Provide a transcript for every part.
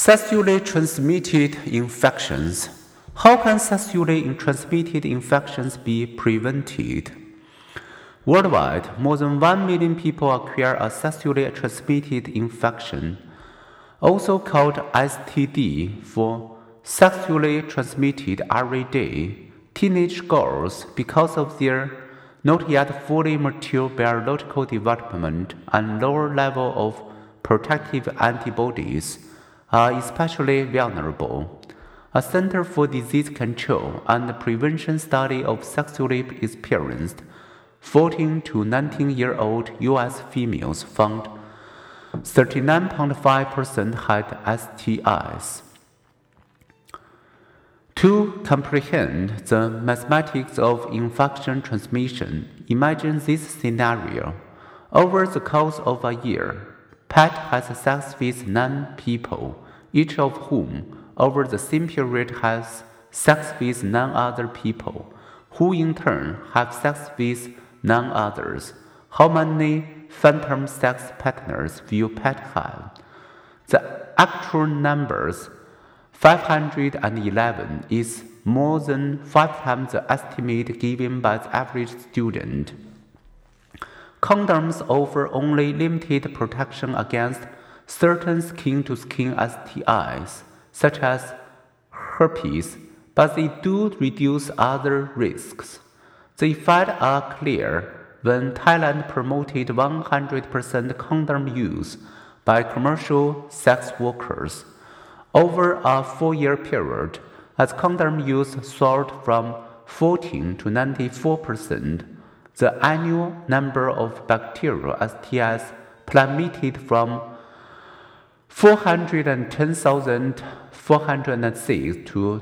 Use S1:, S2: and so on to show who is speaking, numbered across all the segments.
S1: Sexually transmitted infections. How can sexually transmitted infections be prevented? Worldwide, more than 1 million people acquire a sexually transmitted infection, also called STD, for sexually transmitted every day. Teenage girls, because of their not yet fully mature biological development and lower level of protective antibodies, are especially vulnerable. A Center for Disease Control and Prevention study of sexually experienced 14 to 19-year-old U.S. females found 39.5% had STIs. To comprehend the mathematics of infection transmission, imagine this scenario. Over the course of a year, Pat has sex with 9 people, each of whom, over the same period, has sex with 9 other people, who in turn have sex with 9 others. How many phantom sex partners will Pat have? The actual numbers, 511, is more than 5 times the estimate given by the average student. Condoms offer only limited protection against certain skin-to-skin STIs, such as herpes, but they do reduce other risks. The effects are clear when Thailand promoted 100% condom use by commercial sex workers. Over a 4-year period, as condom use soared from 14 to 94%, the annual number of bacterial STIs plummeted from 410,406 to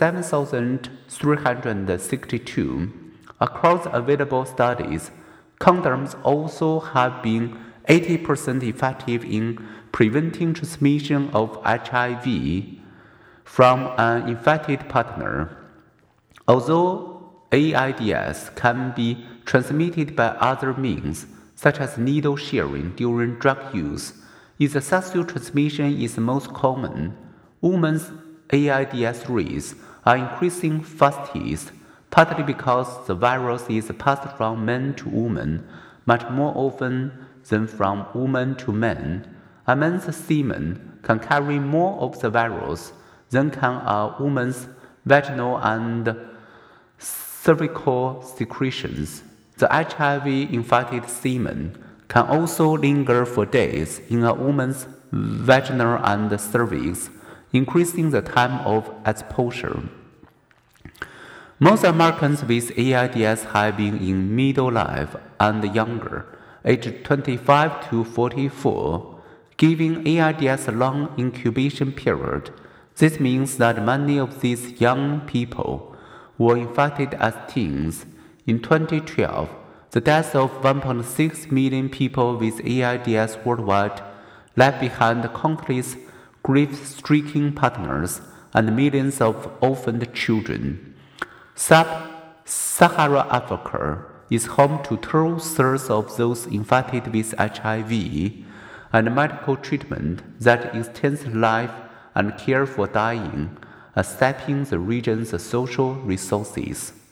S1: 27,362. Across available studies, condoms also have been 80% effective in preventing transmission of HIV from an infected partner. Although AIDS can be transmitted by other means, such as needle sharing during drug use, if the sexual transmission is most common, women's AIDS rates are increasing fastest, partly because the virus is passed from men to women much more often than from women to men. A man's semen can carry more of the virus than can a woman's vaginal and cervical secretions. The HIV-infected semen can also linger for days in a woman's vaginal and cervix, increasing the time of exposure. Most Americans with AIDS have been in middle life and younger, aged 25 to 44, giving AIDS a long incubation period. This means that many of these young people were infected as teens. In 2012, the deaths of 1.6 million people with AIDS worldwide left behind countless grief-stricken partners and millions of orphaned children. Sub-Saharan Africa is home to 2/3 of those infected with HIV, and medical treatment that extends life and care for dying are sapping the region's social resources.